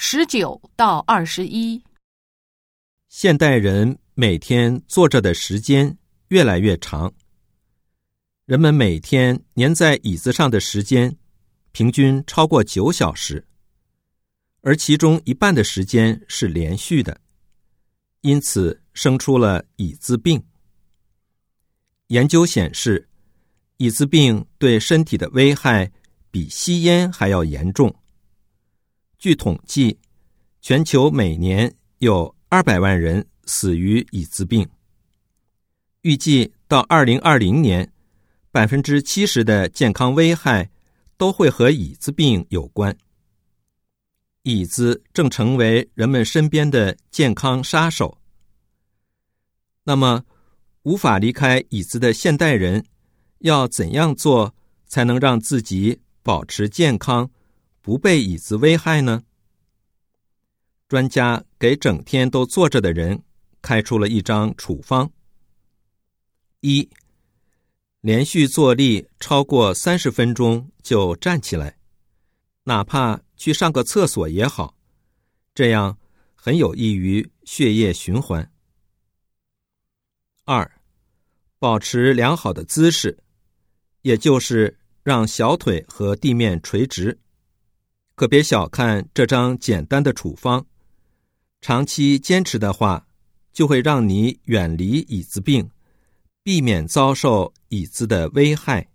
19到21。 现代人每天坐着的时间越来越长，人们每天粘在椅子上的时间平均超过9小时，而其中一半的时间是连续的，因此生出了椅子病。研究显示，椅子病对身体的危害比吸烟还要严重。据统计，全球每年有200万人死于椅子病。预计到2020年，70%的健康危害都会和椅子病有关。椅子正成为人们身边的健康杀手。那么，无法离开椅子的现代人要怎样做才能让自己保持健康，不被椅子危害呢？专家给整天都坐着的人开出了一张处方。1. 连续坐立超过30分钟就站起来，哪怕去上个厕所也好，这样很有益于血液循环。2. 保持良好的姿势，也就是让小腿和地面垂直。可别小看这张简单的处方，长期坚持的话，就会让你远离椅子病，避免遭受椅子的危害。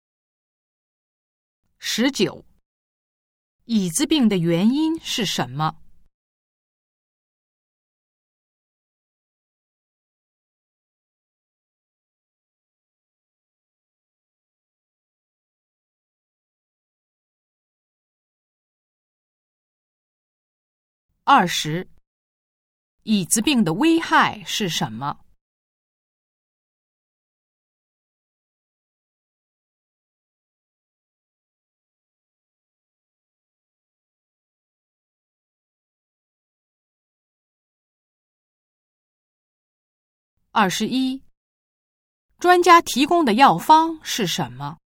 19. 椅子病的原因是什么？20. 椅子病的危害是什么？21. 专家提供的药方是什么？